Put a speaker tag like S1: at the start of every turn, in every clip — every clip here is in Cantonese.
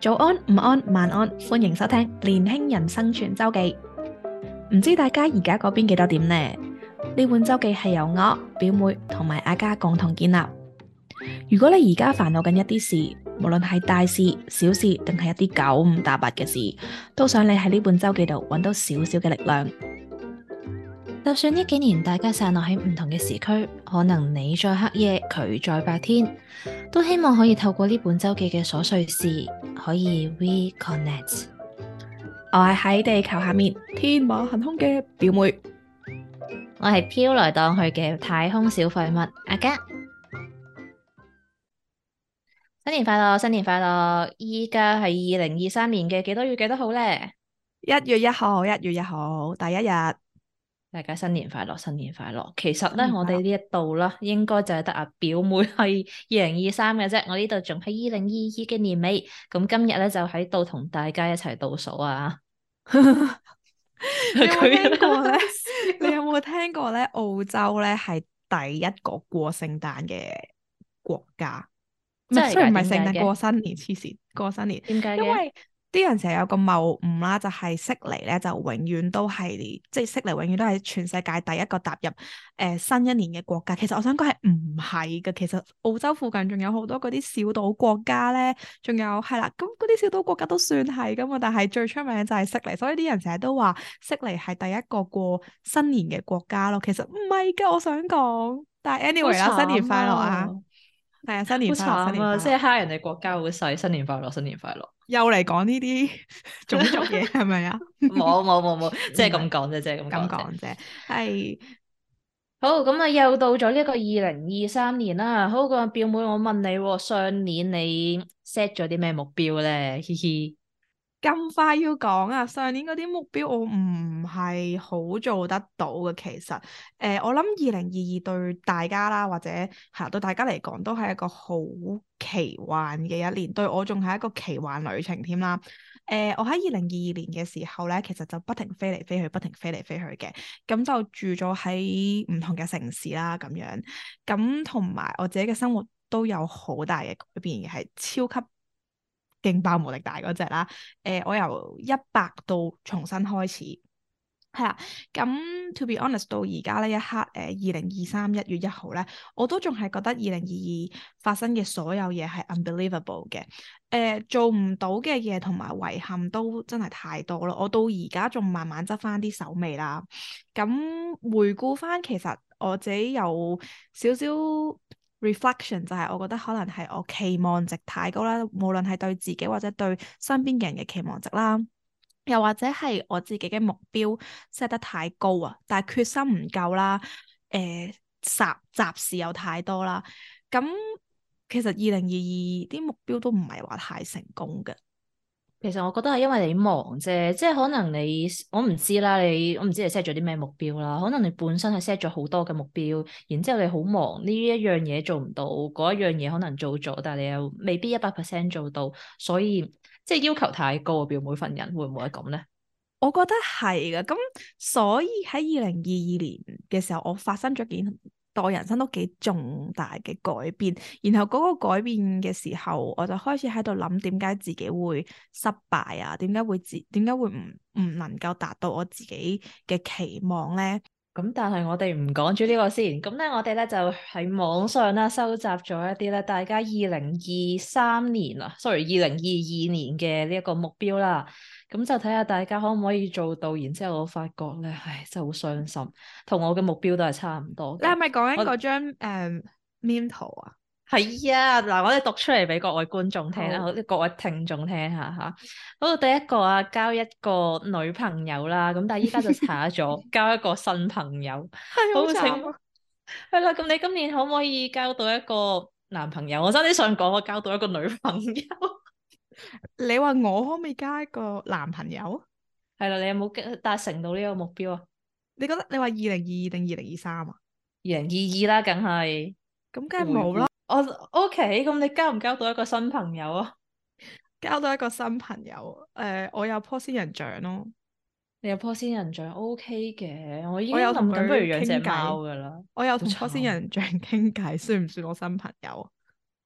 S1: 早安、午安、晚安，歡迎收聽年輕人生存周記。唔知大家而家嗰邊幾多點呢？呢本周記係由我、表妹同埋阿嘉共同建立。如果你而家煩惱緊一啲事，無論係大事、小事定係一啲九唔搭八嘅事，都想你喺呢本周記度揾到少少嘅力量。就算呢幾年大家散落喺唔同嘅時區，可能你在黑夜，佢在白天，都希望可以透過呢本周記嘅瑣碎事，可以 reconnect。我係喺地球下面天馬行空嘅表妹，
S2: 我係飄來蕩去嘅太空小廢物阿嘉。新年快樂，新年快樂！依家係2023年嘅幾多月幾多號呢？
S1: 1月1號，1月1號第一日。
S2: 大家新年快樂，新年快樂！其實咧，
S1: 新年快樂。
S2: 我哋呢一度啦，應該就係得阿表妹係2023嘅啫，我呢度仲係2022嘅年尾。咁今日咧就喺度同大家一齊倒數啊！
S1: 你有冇聽過咧？你有冇聽過咧？澳洲咧係第一個過聖誕嘅國家，唔係，雖然唔係聖誕，過新年，黐線，過新年。
S2: 點解嘅？
S1: 因為啲人成日有個謬誤啦，就係悉尼咧就永遠都係，即係悉尼永遠都係全世界第一個踏入新一年嘅國家。其實我想講係唔係嘅，其實澳洲附近仲有好多嗰啲小島國家咧，仲有係啦，咁嗰啲小島國家都算係噶嘛，但係最出名就係悉尼，所以啲人成日都話悉尼係第一個過新年嘅國家咯。其實唔係噶，我想講，但係 anyway 啦，新年快樂啊！係啊，新年快樂，
S2: 好慘啊！
S1: 新年快樂，
S2: 即係蝦人哋國家好細，新年快樂，新年快樂。
S1: 又嚟講呢啲種族嘢係咪啊？
S2: 冇，即係咁講啫，即係咁
S1: 講啫。係
S2: 好，咁啊，又到咗呢個2023年啦。好，個表妹，我問你喎，上年你 set 咗啲咩目標咧？嘻嘻。
S1: 咁快要講啊？上年嗰啲目標我唔係好做得到嘅，其實我諗2022對大家啦，或者係對大家嚟講都係一個好奇幻嘅一年，對我仲係一個奇幻旅程添啦。我喺2022年嘅時候咧，其實就不停飛嚟飛去，不停飛嚟飛去嘅，咁就住咗喺唔同嘅城市啦，咁樣，咁同埋我自己嘅生活都有好大嘅改變嘅，係超級勁爆無敵大嗰隻啦。我由100到重新開始，係啦。咁 to be honest，到而家呢一刻，2023 1月1號咧，我都仲係覺得2022發生嘅所有嘢係 unbelievable 嘅。做唔到嘅嘢同埋遺憾都真係太多咯。我到而家仲慢慢執翻啲手尾啦。咁回顧翻，其實我自己有少少 reflection，就係我覺得可能係我期望值太高啦，無論係對自己或者對身邊嘅人嘅期望值啦，又或者係我自己嘅目標 set 得太高啊，但係決心唔夠啦，雜事又太多啦，咁其實2022啲目標都唔係話太成功嘅。
S2: 其實我覺得係因為你忙啫，即係可能我唔知啦，我唔知你 set 咗啲咩目標啦。可能你本身係 set 咗好多嘅目標，然之後你好忙，呢一樣嘢做唔到，嗰一樣嘢可能做咗，但係你又未必100%做到，所以即係要求太高，表妹份人會唔會係咁咧？
S1: 我覺得係嘅，咁所以喺2022年嘅時候，我發生咗件對我人生都幾重大嘅改變，然後嗰個改變嘅時候，我就開始喺度諗點解自己會失敗啊？點解會唔能夠達到我自己嘅期望咧？
S2: 咁但係我哋唔講住呢個先，咁咧我哋咧就喺網上啦收集咗一啲咧大家2023年啊，sorry 2022年嘅呢一個目標啦，咁就睇下大家可唔可以做到，然之後我發覺咧，唉真係好傷心，同我嘅目標都係差唔多嘅。
S1: 你係咪講緊
S2: 我
S1: 嗰張meme 圖啊？
S2: 係啊，嗱，我哋讀出嚟俾各位觀眾聽啦，
S1: 好，
S2: 好，各位聽眾聽下吓。好，第一個啊，交一個女朋友啦，咁但係依家就查咗，交一個新朋友。
S1: 係好
S2: 好，請
S1: 慘啊！
S2: 係啦，咁你今年可唔可以交到一個男朋友？我真係想講，我交到一個女朋友。
S1: 你話我可唔可以加一個男朋友？
S2: 係啦，你有冇達成到呢個目標啊？
S1: 你覺得你話2022定2023啊？
S2: 2022啦，梗係
S1: 咁梗係
S2: 回顧。
S1: 冇啦。
S2: 我 OK，咁你交唔交到一個新朋友啊？
S1: 交到一個新朋友，我有棵仙人掌咯，
S2: 你有棵仙人掌 OK 嘅，我已經
S1: 我有同
S2: 諗緊不如
S1: 佢
S2: 養隻
S1: 傾偈，
S2: 貓噶啦，
S1: 我有
S2: 好
S1: 同棵仙
S2: 慘。
S1: 人掌傾偈，算唔算我新朋友？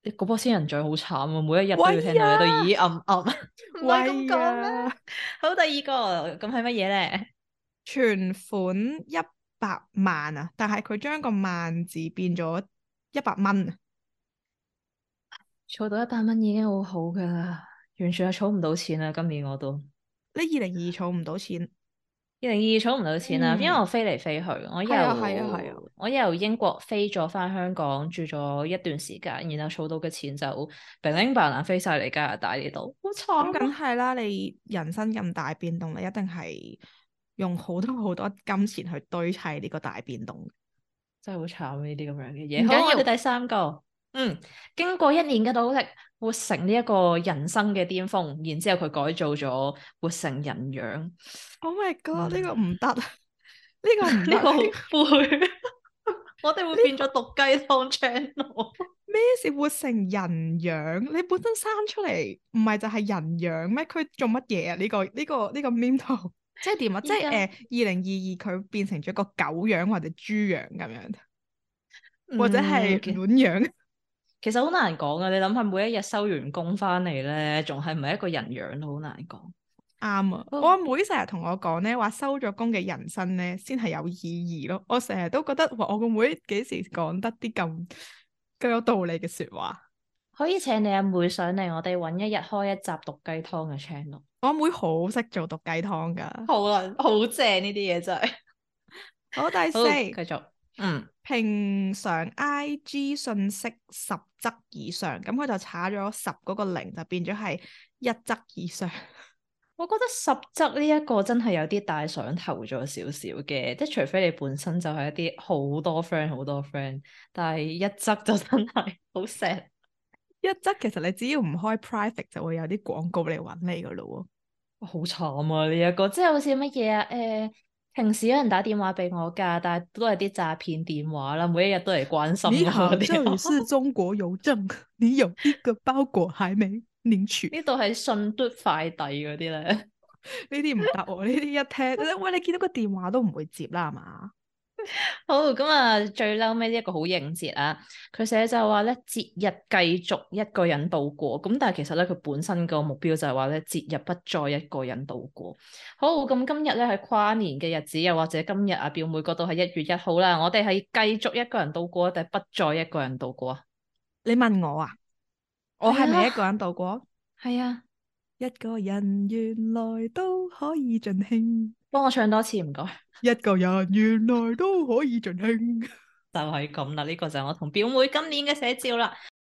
S2: 嗰波仙人掌好慘啊，每一日都要聽
S1: 喂
S2: 到你都
S1: 呀，
S2: 咦唔係咁
S1: 喂
S2: 講咩？
S1: 呀，
S2: 好，第二個咁係乜嘢咧？
S1: 存款100萬啊，但係佢將個萬字變咗100蚊啊！
S2: 儲到100蚊已經好好噶啦，完全係儲唔到錢啦。今年我都
S1: 你2022儲唔到錢，
S2: 2022儲唔到錢啦，因為
S1: 嗯，
S2: 我飛嚟飛去，我
S1: 係啊係啊係啊，
S2: 由英國飛咗翻香港住咗一段時間，然後儲到嘅錢就零零白蘭飛晒嚟加拿大呢度，好
S1: 咁
S2: 慘啊！
S1: 梗係啦，你人生咁大變動，你一定係用好多好多金錢去堆砌呢個大變動。
S2: 真係好慘呢啲咁樣嘅
S1: 唔
S2: 嘢。好，
S1: 緊要，
S2: 我哋第三個，經過1年嘅努力，活成呢一個人生嘅巔峰，然之後佢改造咗，活成人樣。
S1: Oh my god！呢個
S2: 嗯，
S1: 唔得，呢個唔得，
S2: 呢個好灰，我哋會變咗
S1: 呢個
S2: 毒雞湯 channel。
S1: 咩事活成人樣？你本身生出嚟唔係就係人樣咩？佢做乜嘢啊？呢個 meme 圖即係點啊？即係
S2: 依家，
S1: 2022佢變成咗個狗樣或者豬樣咁樣，或者係
S2: 嗯，
S1: 卵樣？
S2: 其實好難講啊！你諗下，每一日收完工翻嚟咧，仲係唔係一個人樣都好難講。
S1: 啱啊！我
S2: 哦，
S1: 阿妹成日同我講咧，話收咗工嘅人生咧，先係有意義咯。我成日都覺得，哇！我個妹幾時講得啲咁有道理嘅説話？
S2: 可以請你阿妹上嚟，我哋揾一日開一集毒雞湯嘅 channel。
S1: 我阿妹好識做毒雞湯㗎。
S2: 好啊，好正呢啲嘢真係。
S1: 好，第四，
S2: 好，繼續。
S1: 平常 IG 信息10則以上，咁佢就查咗10嗰個零，就變咗係1則以上。
S2: 我覺得10則呢一個真係有啲大上頭咗少少嘅，即係除非你本身就係一啲好多 friend，但係1則就真係好 sad。
S1: 1則其實你只要唔開 private 就會有啲廣告嚟揾你噶咯
S2: 好慘啊！呢一個即係好似乜嘢啊？平時有人打電話俾我㗎，但係都係啲詐騙電話啦，每一日都嚟關
S1: 喎。你
S2: 心我
S1: 好，
S2: 嗰啲。
S1: 這裡是中國郵政，你有一個包裹還沒領取。
S2: 呢度係信嘟快遞嗰啲咧。
S1: 呢啲唔得喎，呢啲一聽，喂，你見到個電話都唔會接啦，係嘛？
S2: 好，咁啊，最嬲尾呢一個好應節啊！佢寫就話咧，節日繼續一個人度過。咁但係其實咧，佢本身個目標就係話咧，節日不再一個人度過。好，咁今日咧係跨年嘅日子，又或者今日啊表妹嗰度係1月1號啦，我哋係繼續一個人度過，定係不再一個人度過啊？
S1: 你問我啊，我
S2: 係啊，
S1: 係咪一個人度過？
S2: 係啊，
S1: 一個人原來都可以盡興，
S2: 幫我唱多次唔該。
S1: 一個人原來都可以盡興。
S2: 就係咁啦，呢個就係我同表妹今年嘅寫照啦。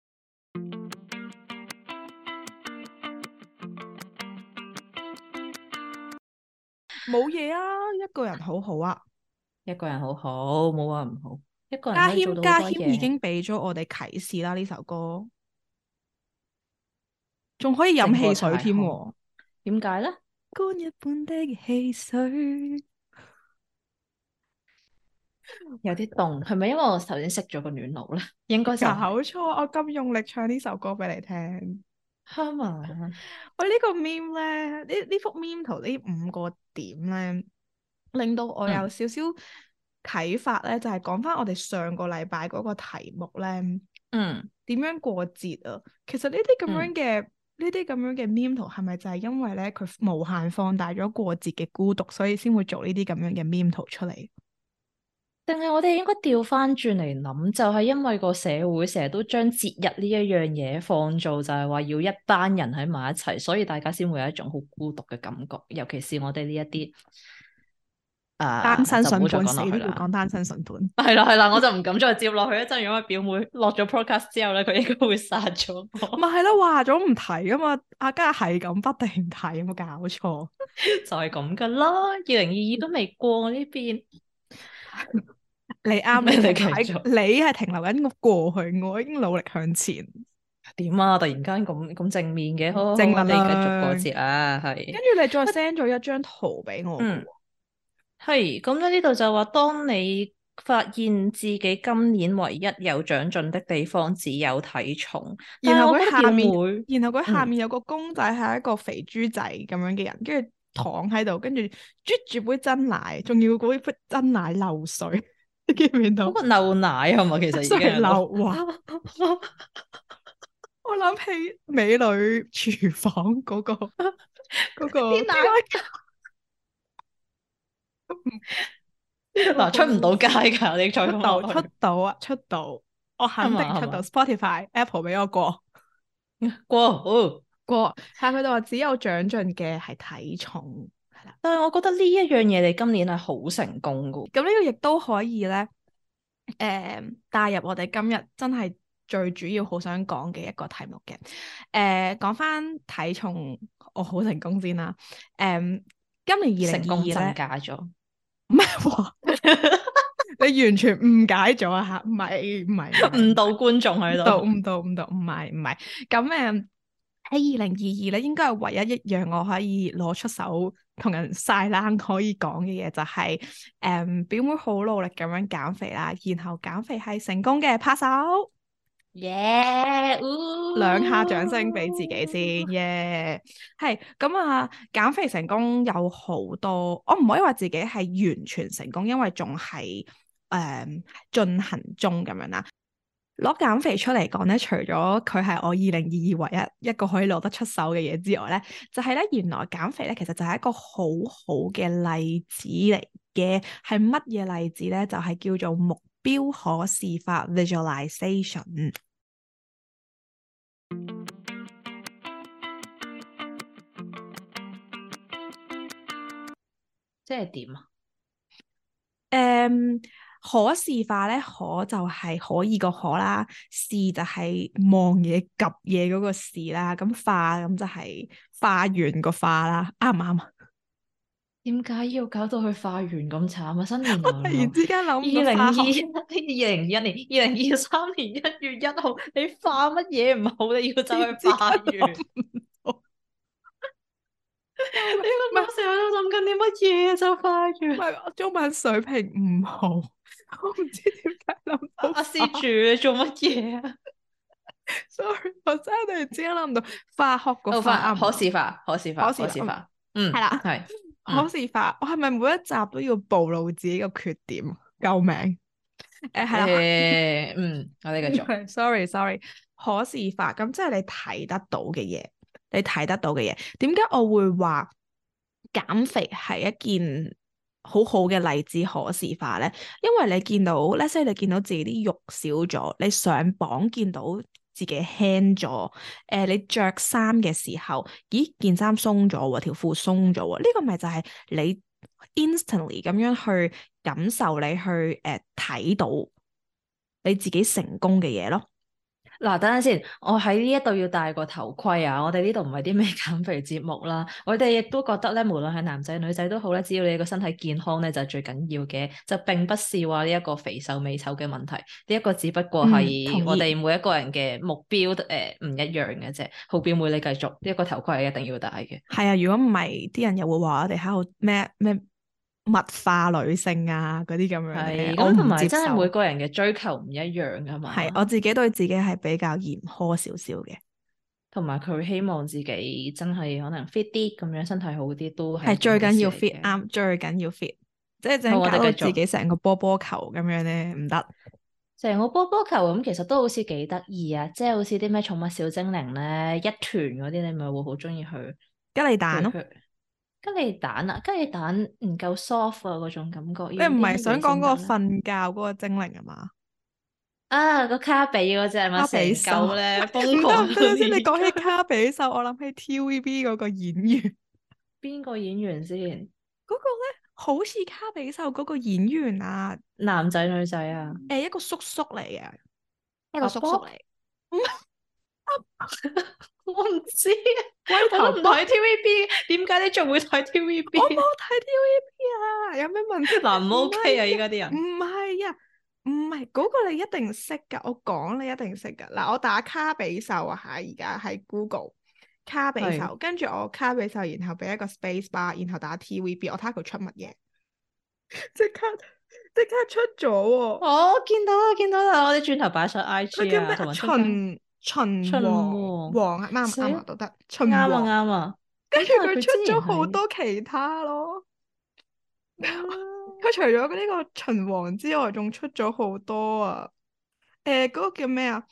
S1: 冇嘢啊，一個人好好啊。
S2: 一個人好好，冇話唔好，一個人
S1: 家
S2: 可以做到好
S1: 謙家謙已
S2: 多嘢，
S1: 經俾咗我哋啟示啦，呢首歌仲可以飲
S2: 勝過
S1: 汽水
S2: 彩虹。
S1: 添喎。
S2: 點解咧？
S1: 乾一半的汽水，
S2: 有啲凍，係咪因為我頭先熄咗個暖爐咧？應該就
S1: 搞
S2: 係。
S1: 錯，我咁用力唱呢首歌俾你聽。
S2: 哈嘛，
S1: 喂，呢個 meme 咧，呢幅 meme 圖呢5個點咧，令到我有
S2: 嗯
S1: 少少啟發咧，就係講翻我哋上個禮拜嗰個題目咧，
S2: 嗯
S1: 點樣過節啊？其實呢啲咁樣
S2: 嗯，
S1: 嘅meme 圖係咪就係因為咧佢無限放大咗過節嘅孤獨，所以先會做呢啲咁樣嘅 meme 圖出嚟？
S2: 定係我哋應該調翻轉嚟諗，就係因為個社會成日都將節日呢一樣嘢放做，就係話要一班人喺埋一齊，所以大家先會有一種好孤獨嘅感覺。尤其是我哋呢一啲
S1: 單身
S2: 就唔好再
S1: 筍盤死都
S2: 講落去啦。
S1: 要講單身筍盤。
S2: 係啦係啦，我就唔敢再接落去一陣，如果表妹落咗 podcast 之後咧，佢應該會殺咗我。
S1: 咪係咯，話咗唔提啊嘛，阿家係咁不停提，有冇搞錯？
S2: 就係咁噶啦，2022都未過我呢邊。
S1: 你啱，
S2: 你哋
S1: 你停留
S2: 繼續
S1: 喺你係停留緊個過去，我已經努力向前。
S2: 點啊？突然間咁正面嘅，好好好，我
S1: 正能
S2: 哋繼續過
S1: 量。
S2: 節啊，
S1: 跟
S2: 係。
S1: 住你再 send 咗一張圖俾我嘅
S2: 嗯，係咁咧，呢度就話，當你發現自己今年唯一有長進的地方只有體重，
S1: 喎，然後
S2: 但係我覺得表
S1: 佢下面，
S2: 妹，嗯，
S1: 有個公仔係一個肥豬仔咁樣嘅人，跟住躺喺度，跟住啜住杯真奶，仲要嗰杯真奶漏水，你見唔見到？
S2: 嗰個漏奶係咪其實已經
S1: 水
S2: 喺度？
S1: 漏，哇！ 我諗起美女廚房嗰個
S2: 啲奶嗱出唔到街㗎，你再咁落
S1: 出
S2: 去
S1: 到啊出到，我
S2: 係
S1: 肯定出到
S2: 嘛係嘛？
S1: Spotify、Apple 俾我
S2: 過哦，
S1: 過，係佢哋話只有長進嘅係體重，係啦。
S2: 但係我覺得呢一樣嘢你今年係好成功㗎。
S1: 咁呢個亦都可以咧，帶入我哋今日真係最主要好想講嘅一個題目嘅。講翻體重，我好成功先啦。今年二
S2: 成功增
S1: 零二二咧，
S2: 加咗，
S1: 唔係喎，你完全誤解咗啊嚇！唔係，
S2: 誤導觀眾喺度。
S1: 唔係。咁喺2022咧，應該係唯一一樣我可以攞出手同人晒冷可以講嘅嘢，就係表妹好努力咁樣減肥啦，然後減肥係成功嘅，拍手
S2: 耶！
S1: 兩下掌聲俾自己先，耶！係咁啊，減肥成功有好多，我唔可以話自己係完全成功，因為仲係進行中咁樣啦。攞減肥出嚟講咧，除咗佢係我2022唯一一個可以攞得出手嘅嘢之外咧，就係咧原來減肥咧其實就係一個好好嘅例子嚟嘅，係乜嘢例子咧？就係叫做目標可視化 visualization。
S2: 即係點啊？
S1: 誒，可視化咧，可就係可以個可啦，視就係望嘢、及嘢嗰個視啦，咁化咁就係化完個化啦，啱唔啱啊？
S2: 點解要搞到去化緣咁慘啊？新年
S1: 我突
S2: 流流，
S1: 然之間諗唔到
S2: 二零二
S1: 化學。
S2: 2021年2023年1月1號，你化乜嘢唔好？你要走去
S1: 之間
S2: 化緣？
S1: 諗唔到，救命！
S2: 你
S1: 唔係
S2: 個腦成日都諗緊啲乜嘢就化緣？
S1: 唔係，我中文水平唔好，我唔知點解諗到
S2: 阿施
S1: 化。
S2: 主你做乜嘢啊？
S1: Sorry，我真係突然之間諗唔到化學個化啱唔
S2: 可
S1: 啱？
S2: 視化，可視化，
S1: 可視化，
S2: 可視化。嗯，
S1: 係啦，
S2: 係，
S1: 可
S2: 嗯，
S1: 視化。我係咪每一集都要暴露自己嘅缺點？救命！係啦，
S2: 我哋繼續。
S1: sorry，可視化咁即係你睇得到嘅嘢，你睇得到嘅嘢。點解我會話減肥係一件好好嘅例子可視化咧？因為你見到，let's say 你見到自己啲肉少咗，你上磅見到自己輕咗，你着衫嘅時候，咦件衫鬆咗喎，條褲鬆咗喎，呢個咪就係你 instantly 咁樣去感受你去睇到你自己成功嘅嘢咯。
S2: 嗱，等陣先，我喺呢一度要戴個頭盔啊！我哋呢度唔係啲咩減肥節目啦，我哋亦都覺得咧，無論係男仔女仔都好咧，只要你個身體健康咧，就係最緊要嘅，就並不是話呢一個肥瘦美醜嘅問題，呢一個只不過係我
S1: 同意。
S2: 哋每一個人嘅目標唔一樣嘅啫。好表妹，你繼續，呢一個頭盔係一定要戴嘅。
S1: 係啊，如果唔係，啲人又會話我哋喺度咩物化女性啊嗰啲咁樣咧，
S2: 係，
S1: 我
S2: 咁同
S1: 唔接受。
S2: 埋真係每個人嘅追求唔一樣噶
S1: 係我
S2: 嘛，
S1: 自己對自己係比較嚴苛少少嘅，
S2: 同埋佢希望自己真係可能 fit 啲咁樣，身體好啲都係
S1: 係
S2: 一件好事
S1: 最緊要
S2: 嚟
S1: fit
S2: 嘅。
S1: 啱，最緊要 fit，即係
S2: 好，
S1: 整搞到自
S2: 我哋繼續。
S1: 己成個波波球咁樣咧，唔得。
S2: 成個波波球咁，其實都好似幾得意啊！即係好似啲咩寵物小精靈咧，一團嗰啲，你咪會好中意去
S1: 吉利蛋咯，
S2: 去去。吉利蛋啊，吉利蛋唔夠 soft 啊，嗰種感覺，
S1: 你唔係
S2: 要啲乜
S1: 想講嗰個
S2: 嘢先得咧？
S1: 瞓覺嗰個精靈啊嘛？
S2: 啊，個卡比嗰只係咪
S1: 卡
S2: 成
S1: 比獸，
S2: 嚿咧
S1: 唔得
S2: 瘋狂到
S1: 唔得先，你
S2: 而
S1: 講起
S2: 家？
S1: 卡比獸，我諗起 TVB 嗰個演員。
S2: 邊個演員先？
S1: 嗰個咧好似卡比獸嗰個演員啊，
S2: 男仔女仔啊？
S1: 一個叔叔嚟嘅，一個
S2: 阿
S1: 叔叔
S2: Bob？
S1: 嚟，
S2: 我唔知啊，
S1: 龜頭波。
S2: 我都唔睇 TVB，點解你仲會睇
S1: 我冇
S2: TVB 啊？
S1: 睇 TVB 啊，有咩問題？
S2: 嗱，唔
S1: 唔
S2: OK 啊！依
S1: 係啊，唔
S2: 家啲人
S1: 係啊，唔係嗰個你一定識噶，我講你一定識噶。嗱，我打卡比獸啊吓，而家喺 Google 卡比
S2: 係。
S1: 獸，跟住我卡比獸，然後俾一個 space bar，然後打 TVB，我睇下佢出乜嘢，即刻即刻出咗喎。
S2: 哦，見到啦，見到啦，我哋轉頭擺上 IG 啊，
S1: 佢叫咩啊？
S2: 同埋中間
S1: 秦
S2: 秦
S1: 王
S2: 王，
S1: 王啊，啱唔
S2: 死
S1: 啱啊？都得
S2: 啱啊
S1: 秦王，
S2: 啱啊，
S1: 跟住
S2: 咁但係
S1: 佢出
S2: 佢之前
S1: 咗好
S2: 喺
S1: 多其他咯。
S2: 嗯
S1: 佢除咗呢個秦王之外，仲出咗好多啊！嗰個叫咩啊？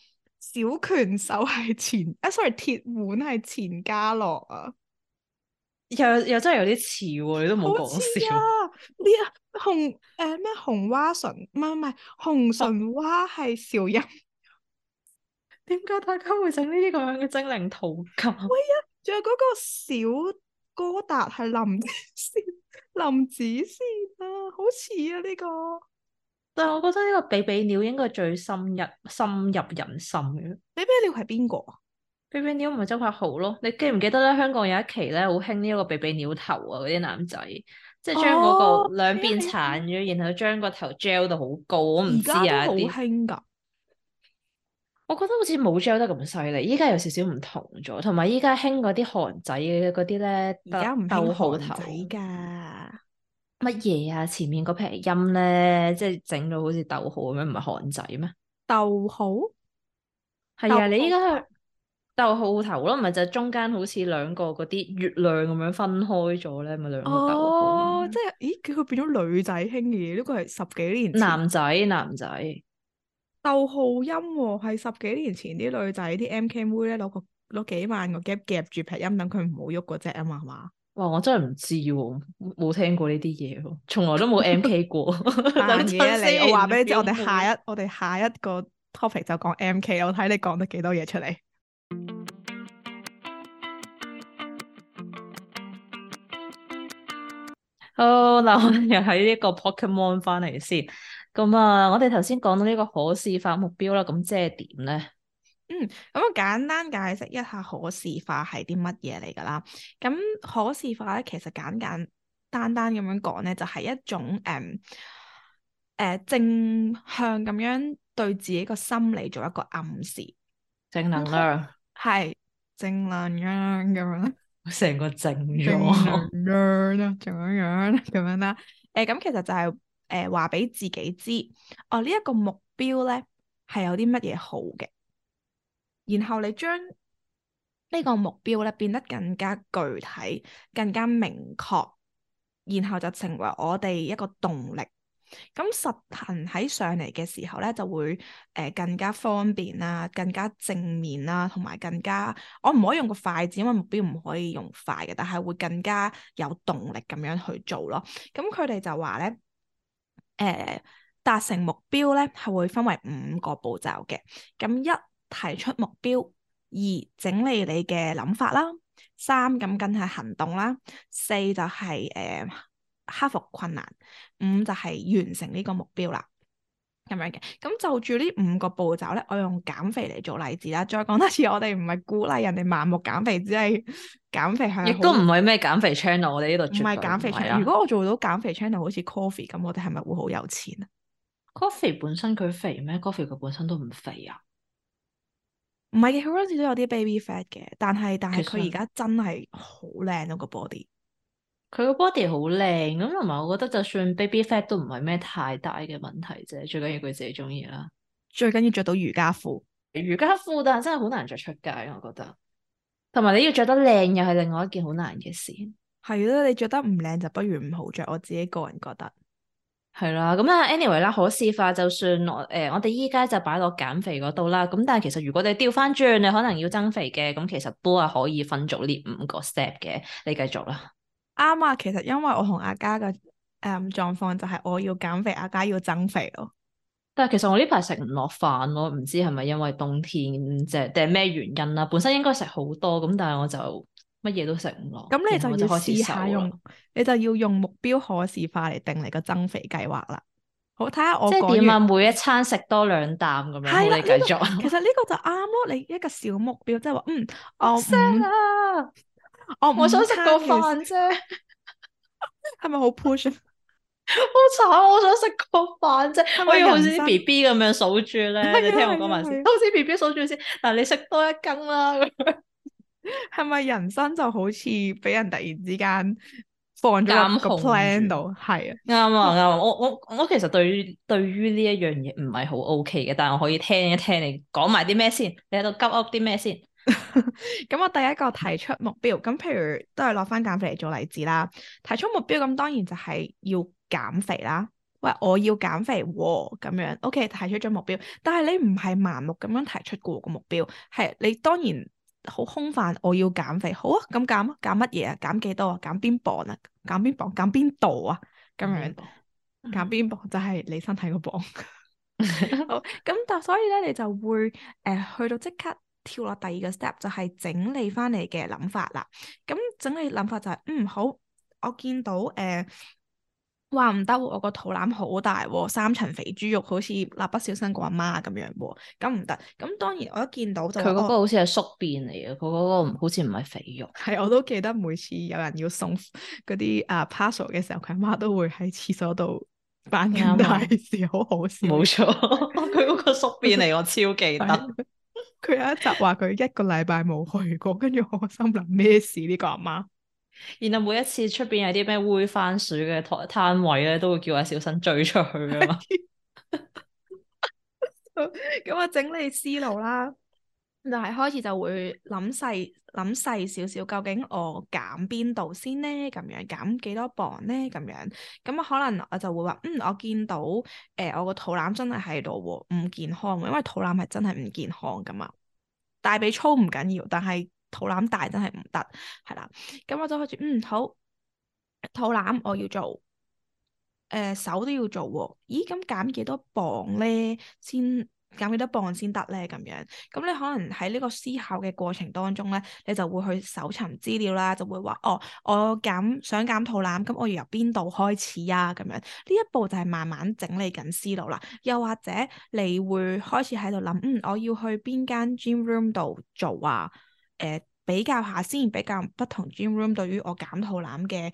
S1: 小拳手係sorry，鐵腕係錢嘉樂啊，
S2: 又真係有啲似喎，你都冇講
S1: 好似
S2: 笑。
S1: 啊！呢咩紅蛙唇，唔係紅唇蛙係邵音，
S2: 點解大家會整呢啲咁樣嘅精靈圖鑑？
S1: 喂啊！仲有嗰個小哥達係林子善啊，好似啊呢個。
S2: 但係我覺得呢個比比鳥應該最深入人心嘅。
S1: 比比鳥係邊個啊？
S2: 比比鳥唔係周柏豪咯？你記唔記得咧？香港有一期咧好興呢一個比比鳥頭啊，嗰啲男仔，即係將嗰
S1: 哦，
S2: 個兩邊
S1: 係啊，
S2: 鏟咗，然後將個頭 gel 到好高。我唔
S1: 而
S2: 知
S1: 家都好
S2: 啊啲，
S1: 興㗎。
S2: 我覺得好似冇 gel 得咁犀利。依家有少少唔同咗，同埋依家興嗰啲韓仔嘅嗰啲咧，
S1: 而家唔興
S2: 逗號
S1: 韓仔
S2: 頭
S1: 㗎。
S2: 乜嘢啊？前面嗰撇音咧，即係整到好似逗號咁樣，唔係韓仔咩？
S1: 逗號，逗
S2: 係啊，你依
S1: 號頭。
S2: 家去逗號頭咯，唔係就係中間好似兩個嗰啲月亮咁樣分開咗咧，咪兩個逗號咁
S1: 哦，即
S2: 樣。
S1: 係，咦？佢變咗女仔興嘅嘢，呢個係十幾年前。
S2: 男仔，
S1: 逗號音喎，係十幾年前啲女仔啲 MK 妹咧攞幾萬個夾夾住劈音，等佢唔好喐嗰隻啊嘛，係嘛？
S2: 哇！我真係唔知喎，冇聽過呢啲嘢喎，從來都冇 MK 過。等
S1: 扮嘢啊你！我
S2: 陣先，
S1: 話俾你知，
S2: 表妹。
S1: 我哋下一個 topic 就講 MK，我睇你講得幾多嘢出嚟。
S2: 好，嗱，我哋又喺呢個 Pokemon 翻嚟先。咁啊，我哋頭先講到呢個可視化目標啦，咁即係點咧？
S1: 咁我簡單解釋一下可視化係啲乜嘢嚟㗎啦。咁可視化咧，其實簡單咁樣講咧，就係一種正向咁樣對自己個心理做一個暗示，
S2: 正能量，
S1: 係正能量咁樣，
S2: 成個正
S1: 正能
S2: 咗。
S1: 量啦，咁樣啦。咁其實就係話俾自己知，哦呢一個目標咧係有啲乜嘢好嘅。然後你將呢個目標咧變得更加具體、更加明確，然後就成為我哋一個動力。咁實行喺上嚟嘅時候咧，就會更加方便啦，更加正面啦，同埋更加我唔可以用個快字，因為目標唔可以用快嘅，但係會更加有動力咁樣去做咯。咁佢哋就話咧，達成目標咧係會分為5個步驟嘅。咁一提出目標，二整理你嘅諗法啦，三咁梗係行動啦，四就係克服困難，五就係完成呢個目標啦。咁樣嘅，咁就住呢5個步驟咧，我用減肥嚟做例子啦。再講多次，我哋唔係鼓勵人哋盲目減肥，只係減肥係好，
S2: 亦都唔係咩減肥 channel，我哋呢度
S1: 唔係
S2: 絕對
S1: 減肥
S2: 唔係
S1: channel。如
S2: 啊。
S1: 果我做到減肥 channel，好似 Coffee 咁，我哋係咪會好有錢啊？
S2: Coffee 本身佢肥咩？Coffee 佢本身都唔肥啊。
S1: 唔係嘅，佢嗰陣時都有啲 baby fat 嘅，但係
S2: 其實
S1: 佢而家真係好靚咯個 body。
S2: 佢個 body 好靚，咁同埋我覺得就算 baby fat 都唔係咩太大嘅問題啫，最緊要佢自己中意啦。
S1: 最緊要着到瑜伽褲。
S2: 瑜伽褲但係真係好難着出街，我覺得。同埋你要着得靚又係另外一件好難嘅事。
S1: 係咯，你着得唔靚就不如唔好着。我自己個人覺得。
S2: 係啦，咁啊，anyway 啦，可視化就算我哋依家就擺落減肥嗰度啦。咁但係其實如果你調翻轉，你可能要增肥嘅，咁其實都係可以分做呢5個 step 嘅。你繼續啦。
S1: 啱啊，其實因為我同阿嘉嘅狀況就係我要減肥，阿嘉要增肥咯。
S2: 但係其實我呢排食唔落飯咯，唔知係咪因為冬天即係定係咩原因啦？本身應該食好多咁，但係我就乜嘢都食唔落，
S1: 咁你
S2: 然後我就
S1: 就要
S2: 開始瘦啦。
S1: 試下用，你就要用目標可視化嚟定你個增肥計劃啦。好，睇下我講完。
S2: 即係點啊？每一餐食多2啖咁樣，好，
S1: 係啦，
S2: 你繼續。
S1: 其實呢個就啱咯。你一個小目標，即係話，我
S2: 好 sad 啊！我想
S1: 我午
S2: 食個
S1: 餐嘅
S2: 飯啫，
S1: 係咪好 push 啊？
S2: 好慘！我想食個飯啫，
S1: 係咪
S2: 我要好似啲
S1: 人生？
S2: BB 咁樣數住咧。你
S1: 係啊
S2: 聽我講埋先，
S1: 係啊係啊，
S2: 好似 BB 數住先。嗱，你食多1羹啦。咁樣
S1: 係咪人生就好似俾人突然之間放咗落個
S2: 監控
S1: plan
S2: 住。
S1: 度？係啊。
S2: 啱啊啱啊！我其實對於呢一樣嘢唔係好 OK 嘅，但係我可以聽一聽你講埋啲咩先，你喺度急噏啲咩先？
S1: 咁我第一個提出目標，咁譬如都係攞翻減肥嚟做例子啦。提出目標咁當然就係要減肥啦。 喂，我要減肥喎，咁樣，OK，提出咗目標，但係你唔係盲目咁樣提出過個目標，係你當然好空泛，我要減肥，好啊，咁減啊，減乜嘢啊？減幾多啊？減邊磅啊？減邊磅？減邊度啊？咁樣減邊磅就係你身體個磅。好，咁但所以咧，你就會去到即刻跳落第二個 step，就係整理翻嚟嘅諗法啦。咁整理諗法就係、好，我見到話唔得喎，我個肚腩好大喎，三層肥豬肉，好似蠟筆小新個阿媽咁樣喎，咁唔得。咁當然我一見到就話
S2: 佢嗰個好似係宿便嚟嘅，佢嗰個好似唔係肥肉。
S1: 係，我都記得每次有人要送嗰啲parcel 嘅時候，佢阿媽都會喺廁所度扮緊大
S2: 啱
S1: 事，好好笑。
S2: 冇錯，佢嗰個宿便嚟，我超記得。
S1: 佢有一集話佢一個禮拜冇去過，跟住我心諗咩事呢個阿媽？
S2: 然後每一次出邊有啲咩煨番薯嘅攤位咧，都會叫阿小新追出去噶嘛。
S1: 咁我整理思路啦，就係開始就會諗細少少，究竟我減邊度先呢？咁樣減幾多磅呢？咁樣咁可能我就會話，我見到我個肚腩真係喺度喎，唔健康，因為肚腩係真係唔健康噶嘛。大髀粗唔緊要，但係肚腩大真係唔得，係啦。咁我就開始，好，肚腩我要做。手都要做喎，咦咁減幾多磅咧？先減幾多磅先得咧？咁樣，咁你可能喺呢個思考嘅過程當中咧，你就會去搜尋資料啦，就會話哦，我想減肚腩，咁我要由邊度開始啊？咁樣呢一步就係慢慢整理緊思路啦。又或者你會開始喺度諗，我要去邊間 gym room 度做啊？比較下先，比較不同 gym room 對於我減肚腩嘅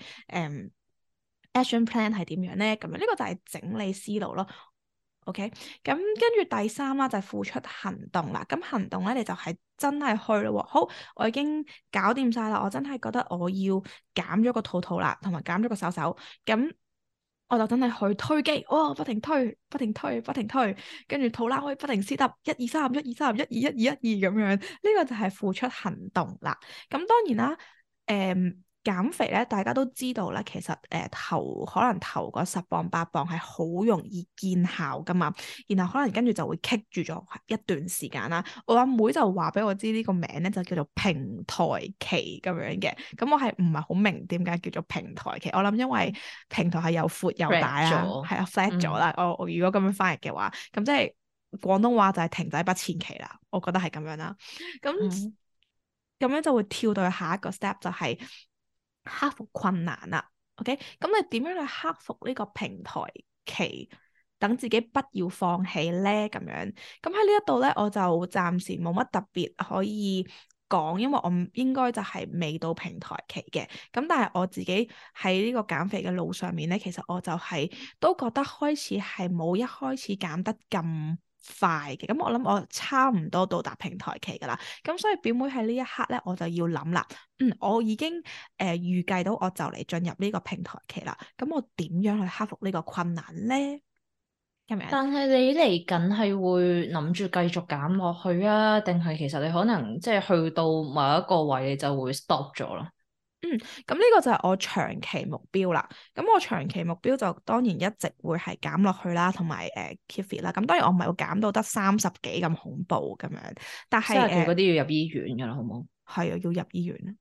S1: action plan 係點樣咧？咁樣呢個就係整理思路咯。OK，咁跟住第三啦，就係付出行動啦。咁行動咧，你就係真係去咯喎。好，我已經搞掂晒啦。我真係覺得我要減咗個肚啦，同埋減咗個手。咁我就真係去推機，哦，不停推，不停推，不停推，跟住肚腩可以不停 sit up，一二三，一二三，一二咁樣。呢個就係付出行動啦。咁當然啦，減肥咧，大家都知道啦，其實可能頭嗰10磅8磅係好容易見效噶嘛，然後可能跟住就會棘住咗一段時間啦。我阿妹就話俾我知呢個名咧就叫做平台期咁樣嘅，咁我係唔係好明點解叫做平台期？我諗因為平台係又闊又大啦，係啊 flat 咗啦。我如果咁樣翻譯嘅話，咁即係廣東話就係停滯不前期啦。我覺得係咁樣啦。咁咁樣就會跳到去下一個 step 就係克服困難啦。OK，咁你點樣去克服呢個平台期，等自己不要放棄咧？咁樣咁喺呢一度咧，我就暫時冇乜特別可以講，因為我應該就係未到平台期嘅。咁但係我自己喺呢個減肥嘅路上面咧，其實我就係都覺得開始係冇一開始減得咁快嘅。咁我諗我差唔多到達平台期噶啦。咁所以表妹喺呢一刻咧，我就要諗啦。我已經預計到我就嚟進入呢個平台期啦。咁我點樣去克服呢個困難咧？咁樣。
S2: 但係你嚟緊係會諗住繼續減落去啊？定係其實你可能即係去到某一個位你就會 stop 咗咯？
S1: 咁呢個就係我長期目標啦。咁我長期目標就當然一直會係減落去啦，同埋keep fit 啦。咁當然我唔係會減到得30幾咁恐怖咁樣，但係
S2: 嗰啲要入醫院噶啦，好唔好？
S1: 係啊，要入醫院，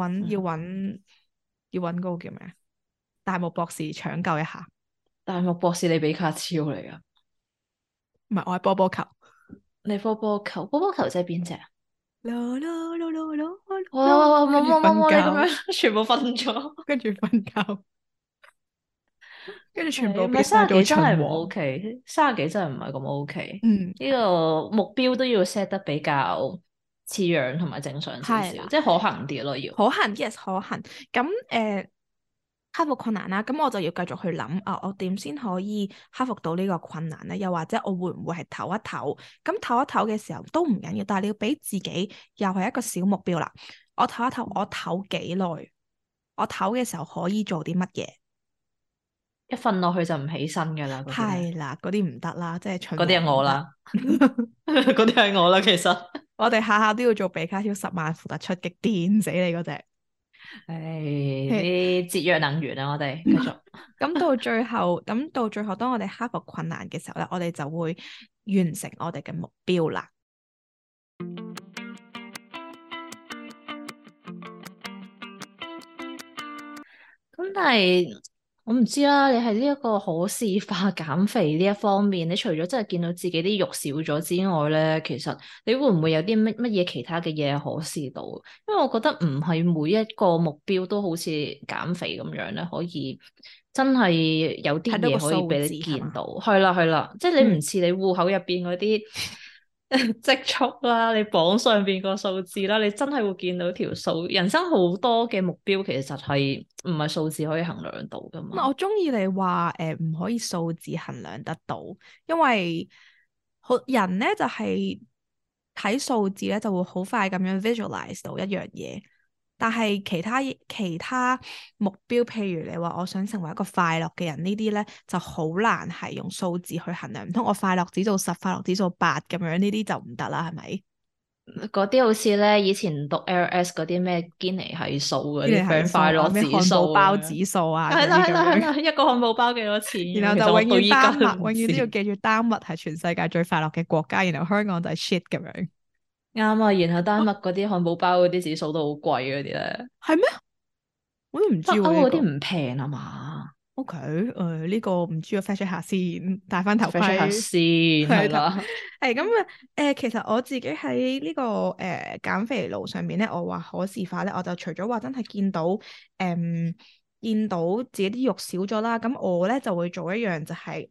S1: 要揾嗰個叫咩？大木博士搶救一下。
S2: 大木博士，你比卡超嚟噶？
S1: 唔係，我係波波球。
S2: 你波波球，波波球即係邊隻啊？
S1: 啦啦啦啦啦
S2: 哇！冇
S1: 跟住
S2: 冇冇冇，你咁
S1: 瞓覺，
S2: 樣全部瞓咗。
S1: 跟住瞓覺，跟住全部
S2: 唔係
S1: 變晒做
S2: 三十幾真係唔
S1: 秦王。
S2: OK，三十幾真係唔係咁 OK。
S1: 嗯，
S2: 呢個目標都要 set 得比較似樣同埋正常少少，
S1: 係啦，
S2: 即係可行啲咯，要。
S1: 可行，yes 可行。咁克服困難啦，咁我就要繼續去諗啊，我點先可以克服到呢個困難咧？又或者我會唔會係唞一唞？咁唞一唞嘅時候都唔緊要，但係你要俾自己又係一個小目標啦。我唞一唞，我唞幾耐？我唞嘅時候可以做啲乜嘢？
S2: 一瞓落去就唔起身噶啦，嗰啲咧，
S1: 係啦，嗰啲唔得啦，即係秦
S2: 嗰啲係
S1: 王唔得。
S2: 我啦，嗰啲係我啦，其實。
S1: 我哋下下都要做比卡超10萬伏特出擊，電死你嗰隻。
S2: 唉，啲節約能源啊，我哋繼續。
S1: 咁到最後，當我哋克服困難嘅時候咧，我哋就會完成我哋嘅目標啦。
S2: 咁但係我唔知啦，你係呢一個可視化減肥呢一方面，你除咗真係見到自己啲肉少咗之外咧，其實你會唔會有啲乜嘢其他嘅嘢可視到？因為我覺得唔係每一個目標都好似減肥咁樣咧，可以真係有啲
S1: 睇到個
S2: 嘢可以
S1: 數
S2: 俾你
S1: 字係嘛？
S2: 見到。係啦係啦，即係你
S1: 嗯，
S2: 唔似你戶口入邊嗰啲積蓄啦，你榜上邊個數字啦，你真係會見到條數。人生好多嘅目標其實係唔係數字可以衡量到噶嘛？
S1: 我中意你話唔可以數字衡量得到，因為好人咧就係睇數字咧就會好快咁樣 visualize 到一樣嘢，但係其他目標，譬如你話我想成為一個快樂嘅人呢啲咧，就好難係用數字去衡量，唔通我快樂指數10，快樂指數8咁樣呢啲就唔得啦，係咪？
S2: 嗰啲好似咧，以前讀 LS 嗰啲咩堅尼係數嗰啲
S1: 呢啲係
S2: friend
S1: 數啊，
S2: 快樂
S1: 咩
S2: 指數
S1: 漢堡包
S2: 咁樣，
S1: 指數啊嗰
S2: 係啦係
S1: 啲咁樣。
S2: 啦係啦，一個漢堡包幾多錢咁樣？
S1: 然後就
S2: 其實我到
S1: 永遠丹麥，
S2: 依家都唔
S1: 永遠都要
S2: 知。
S1: 記住丹麥係全世界最快樂嘅國家，然後香港就係 shit 咁樣。
S2: 啱啊，然後丹麥嗰啲漢堡包嗰啲指數都好貴嗰啲咧，
S1: 係咩？我都唔知
S2: 北
S1: 喎呢個。
S2: 歐嗰啲唔平啊嘛，
S1: OK，呢個唔知啊，fact check 下先，戴翻頭
S2: check 下
S1: 盔。
S2: 先
S1: 係頭
S2: 係啦。
S1: 係咁啊。其實我自己喺呢個減肥路上面咧，我話可視化咧，我就除咗話真係見到自己啲肉少咗啦，咁我咧就會做一樣就係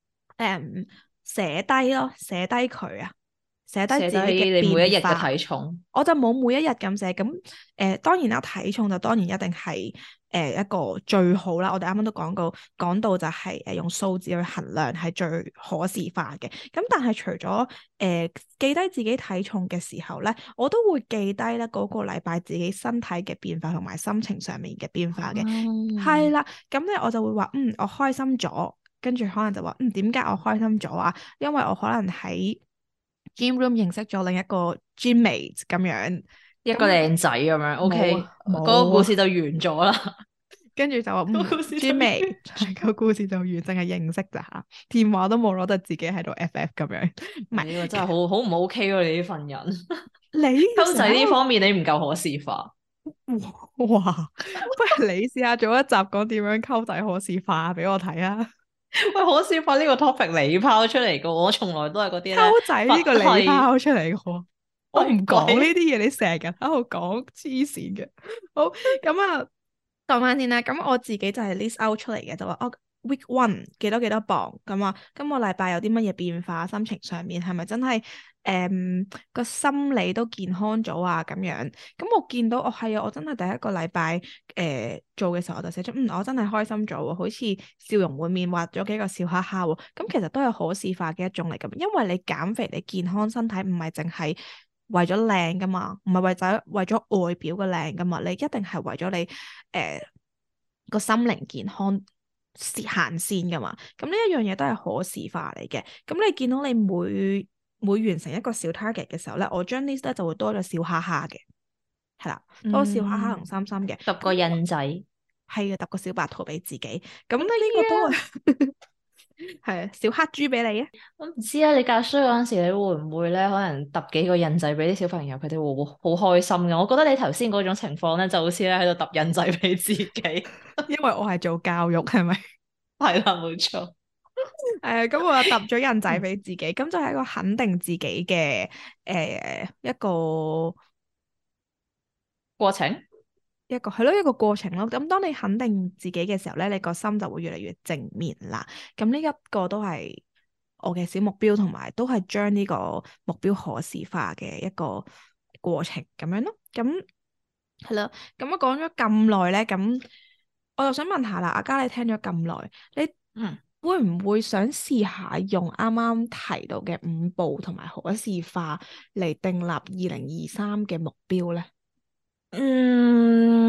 S1: 寫低咯，寫低佢啊，寫低
S2: 寫低
S1: 自己嘅
S2: 你每一日嘅
S1: 變化。
S2: 體重，
S1: 我就冇每一日咁寫，咁當然啦，體重就當然一定係一個最好啦。我哋啱啱都講到就係用數字去衡量係最可視化嘅。咁但係除咗記低自己體重嘅時候咧，我都會記低咧嗰個禮拜自己身體嘅變化同埋心情上面嘅變化嘅。係
S2: 嗯，
S1: 啦，咁咧我就會話我開心咗，跟住可能就話點解我開心咗啊？因為我可能喺 gym room 認識咗另一個 gymmate 咁樣，
S2: 一個
S1: 咁
S2: 靚仔咁樣，OK，
S1: 冇啊
S2: 嗰個
S1: 冇啊，
S2: 故事就完咗啦，
S1: 跟住就話
S2: 個故事就完
S1: gymmate
S2: 咗。
S1: 個故事就完，淨係認識咋嚇，電話都冇攞，得自己喺度 FF 咁樣，唔係
S2: 你呢個真係好好唔 OK 喎！你呢份人，
S1: 你
S2: 溝仔呢
S1: 成日喺度
S2: 方面你唔夠可視化。
S1: 哇，不如你試下做一集講點樣溝仔可視化俾我睇啊！
S2: 喂，可視化呢個 topic 你拋出嚟嘅，我從來都係嗰啲咧
S1: 溝仔
S2: 佛
S1: 呢個你
S2: 系
S1: 拋出嚟嘅喎，我唔
S2: 喂
S1: 講呢
S2: 鬼，
S1: 啲嘢，你成日喺度講黐線嘅。好，咁啊，講翻先啦。咁我自己就係 list out 出嚟嘅，就話week one 幾多幾多磅咁啊，今個禮拜有啲乜嘢變化，心情上面係咪真係個心理都健康咗啊？咁樣，咁我見到係啊，我真係第一個禮拜做嘅時候我就寫出我真係開心咗喎，好似笑容滿面，畫咗幾個笑哈哈喎。咁其實都係可視化嘅一種嚟㗎，因為你減肥你健康身體唔係淨係為咗靚㗎嘛，唔係為咗外表嘅靚㗎嘛，你一定係為咗你個心靈健康行先㗎嘛。咁呢一樣嘢都係可視化嚟嘅。咁你見到你每完成一個小 target 嘅時候咧，我將 list 咧就會多咗笑哈哈嘅，係啦，多笑哈哈同心心嘅。
S2: 揼個印仔。
S1: 係啊，揼個小白兔俾自己。咁呢
S2: 好得意
S1: 個都
S2: 啊！
S1: 係係啊，小黑豬俾你啊。
S2: 我唔知啊，你教書嗰陣時，你會唔會咧，可能揼幾個印仔俾啲小朋友，佢哋會好開心嘅。我覺得你頭先嗰種情況咧，就好似咧喺度揼印仔俾自己。
S1: 因為我係做教育，係咪？
S2: 係啦，冇錯。
S1: 咁我就揼咗印仔俾自己，咁就係一個肯定自己嘅一個
S2: 過程。
S1: 係咯，一個過程咯。咁當你肯定自己嘅時候咧，你個心就會越嚟越正面啦。咁呢一個都係我嘅小目標，同埋都係將呢個目標可視化嘅一個過程咁樣咯。咁係啦，咁我講咗咁耐咧，咁我就想問下啦，阿嘉你聽咗咁耐，你
S2: 嗯。
S1: 會唔會想試下用啱啱提到嘅5步同埋可視化嚟訂立2023嘅目標咧？
S2: 嗯，我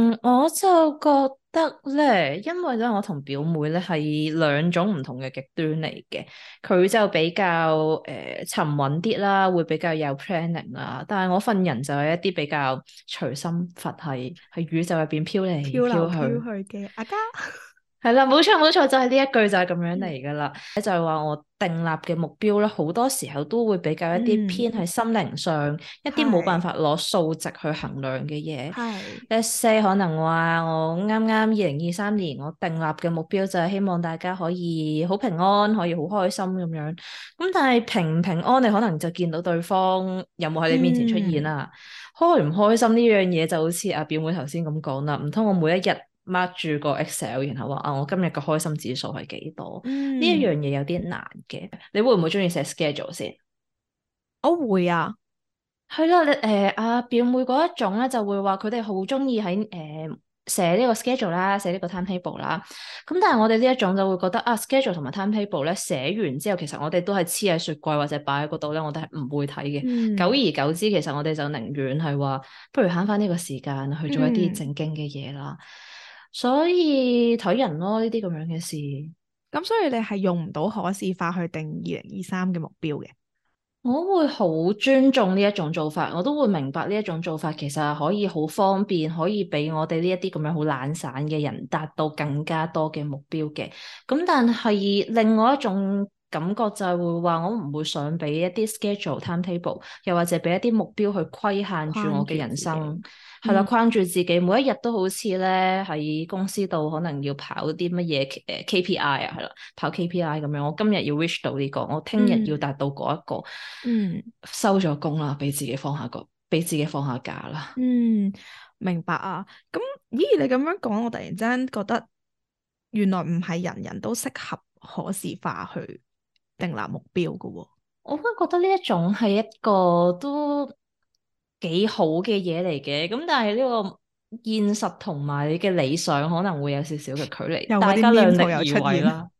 S2: 就覺得咧，因為咧我同表妹咧係兩種唔同嘅極端嚟嘅，佢就比較沉穩啲啦，會比較有 planning 啦，但係我份人就係一啲比較隨心佛系，喺宇宙入邊飄嚟
S1: 飄流飄
S2: 飄去。
S1: 去嘅阿嘉。
S2: 係啦，冇錯冇錯，就係呢一句就係咁樣嚟噶啦。就係話我訂立嘅目標咧，好多時候都會比較一啲
S1: 嗯，
S2: 偏喺心靈上，一啲冇辦
S1: 係
S2: 法攞數值去衡量嘅嘢。
S1: 係，
S2: Let's say 可能話我啱啱2023年我訂立嘅目標就係希望大家可以好平安，可以好開心咁樣。咁但係平唔平安，你可能就見到對方有冇喺你面前出現
S1: 嗯
S2: 啦。開唔開心呢樣嘢就好似阿表妹頭先咁講啦，唔通我每一日 mark 住個 Excel，然後話啊我今日嘅開心指數係幾多？呢一樣
S1: 嗯，
S2: 嘢有啲難嘅。你會唔會中意寫 schedule 先？
S1: 我會啊。
S2: 係啦，你阿表妹嗰一種咧就會話佢哋好中意喺寫呢個 schedule 啦，寫呢個 timetable 啦。咁但係我哋呢一種就會覺得啊 schedule 同埋 timetable 咧寫完之後，其實我哋都係黐喺雪櫃或者擺喺嗰度咧，我哋係唔會睇嘅。久
S1: 嗯
S2: 而久之，其實我哋就寧願係話，不如慳翻呢個時間去做一啲
S1: 嗯，
S2: 正經嘅嘢啦。所以睇人咯，呢啲咁樣嘅事。
S1: 咁所以你係用唔到可視化去定2023嘅目標嘅。
S2: 我會好尊重呢一種做法，我都會明白呢一種做法其實係可以好方便，可以俾我哋呢一啲咁樣好懶散嘅人達到更加多嘅目標嘅。咁但係另外一種感覺就係會話，我唔會想俾一啲 schedule timetable，又或者俾一啲目標去規限住我嘅
S1: 框住自己。
S2: 人生。係啦，
S1: 嗯
S2: 框住自己，每一日都好似咧喺公司度可能要跑啲乜嘢KPI 啊，係啦，跑 KPI 咁樣。我今日要 reach 到呢個，我聽日要
S1: 嗯
S2: 達到嗰一個。
S1: 嗯
S2: 收咗工啦，俾自己放下假啦。
S1: 嗯，明白啊。咁咦，你咁樣講，我突然之間覺得原來唔係人人都適合可視化去訂立目標噶喎。
S2: 我都覺得呢一種係一個都幾好嘅嘢嚟嘅，咁但係呢個現實同埋你嘅理想可能會有少少嘅距離，
S1: 又嗰啲
S2: 大家
S1: meme
S2: 量
S1: 圖又
S2: 力而為
S1: 出現。
S2: 啦。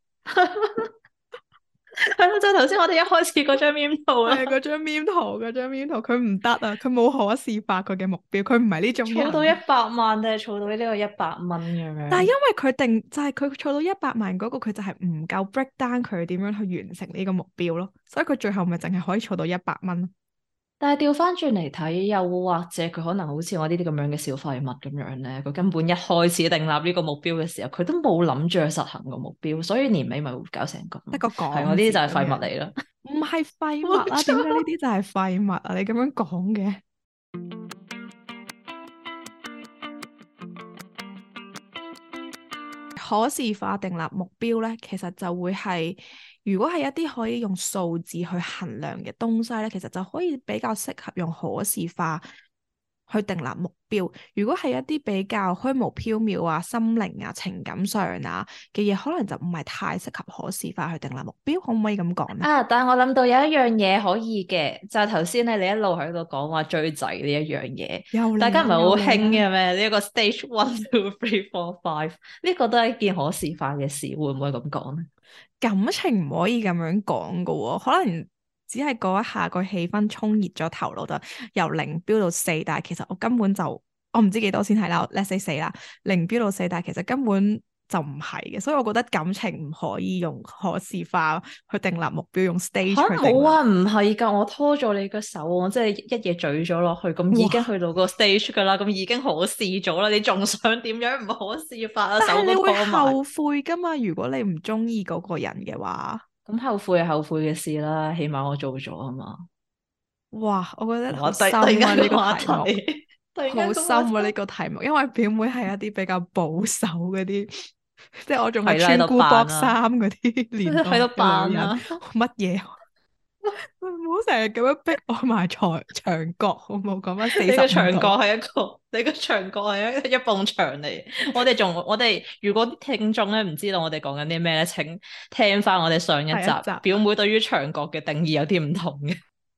S2: 係咯，就係頭先我哋一開始嗰張 meme 圖啦，
S1: 係嗰張 meme 圖，嗰張 meme 圖，佢唔得啊！佢冇可視化佢嘅目標，佢唔係呢種
S2: 儲到一
S1: 人。
S2: 百萬定係儲到呢個100蚊咁樣？
S1: 但係因為佢定就係佢儲到100萬嗰個，佢就係唔夠 break down 佢點樣去完成呢個目標咯，所以佢最後咪淨係可以儲到100蚊咯。
S2: 但係調翻轉嚟睇，又或者佢可能好似我呢啲咁樣嘅小廢物咁樣咧，佢根本一開始訂立呢個目標嘅時候，佢都冇諗住去實行個目標，所以年尾咪會搞成咁咯。
S1: 得個
S2: 係我
S1: 講字
S2: 呢啲就係廢物
S1: 咁樣，
S2: 嚟啦。
S1: 唔係廢物啊？點解
S2: 冇錯。
S1: 呢啲就係廢物啊？你咁樣講嘅。可視化訂立目標咧，其實就會係如果係一啲可以用數字去衡量嘅東西咧，其實就可以比較適合用可視化去訂立目標。如果係一啲比較虛無縹緲啊、心靈啊、情感上啊嘅嘢，可能就唔係太適合可視化去訂立目標。可唔可以咁講呢？
S2: 啊！但係我諗到有一樣嘢可以嘅，就係頭先咧，你一路喺度講話追仔呢一樣嘢，
S1: 又嚟啦，
S2: 大家唔係好興嘅
S1: 又嚟啦！
S2: 咩？呢一個 stage 1 2 3 4 5呢個都係一件可視化嘅事，會唔會咁講咧？
S1: 感情唔可以咁樣講噶喎，可能只係嗰一下個氣氛衝熱咗頭腦，就由零飆到四，但係其實我根本就我唔知幾多先係啦，let's say 四啦，零飆到四，但係其實根本就唔係嘅，所以我覺得感情唔可以用可視化去訂立目標，用 stage
S2: 吓
S1: 去訂立。
S2: 冇啊，唔係㗎，我拖咗你個手，我即係一嘢咀咗落去，咁已經
S1: 哇！
S2: 去到個 stage 㗎啦，咁已經可視咗啦，你仲想點樣唔可視化啊？手都
S1: 但係你會
S2: 拖埋，
S1: 後悔噶嘛？如果你唔中意嗰個人嘅話，
S2: 咁後悔係後悔嘅事啦，起碼我做咗啊嘛。
S1: 哇！我覺得好
S2: 哇！突
S1: 深
S2: 然間
S1: 啊呢個
S2: 個話
S1: 題目。
S2: 題，突然間
S1: 好
S2: 個話題，
S1: 深啊呢個題目，因為表妹係一啲比較保守嗰啲，即係我仲係
S2: 係啦，喺度
S1: 穿菇
S2: 扮啦，
S1: 搏衫嗰啲年代
S2: 喺度
S1: 嘅女人，
S2: 扮啦。
S1: 乜嘢？唔好成日咁樣逼我埋牆角，好冇？講翻四
S2: 你
S1: 十五度。
S2: 個牆角係一個，你個牆角係一埲牆嚟。我哋如果啲聽眾咧唔知道我哋講緊啲咩咧，請聽翻我哋上一集，
S1: 第一集，
S2: 表妹對於牆角嘅定義有啲唔同嘅。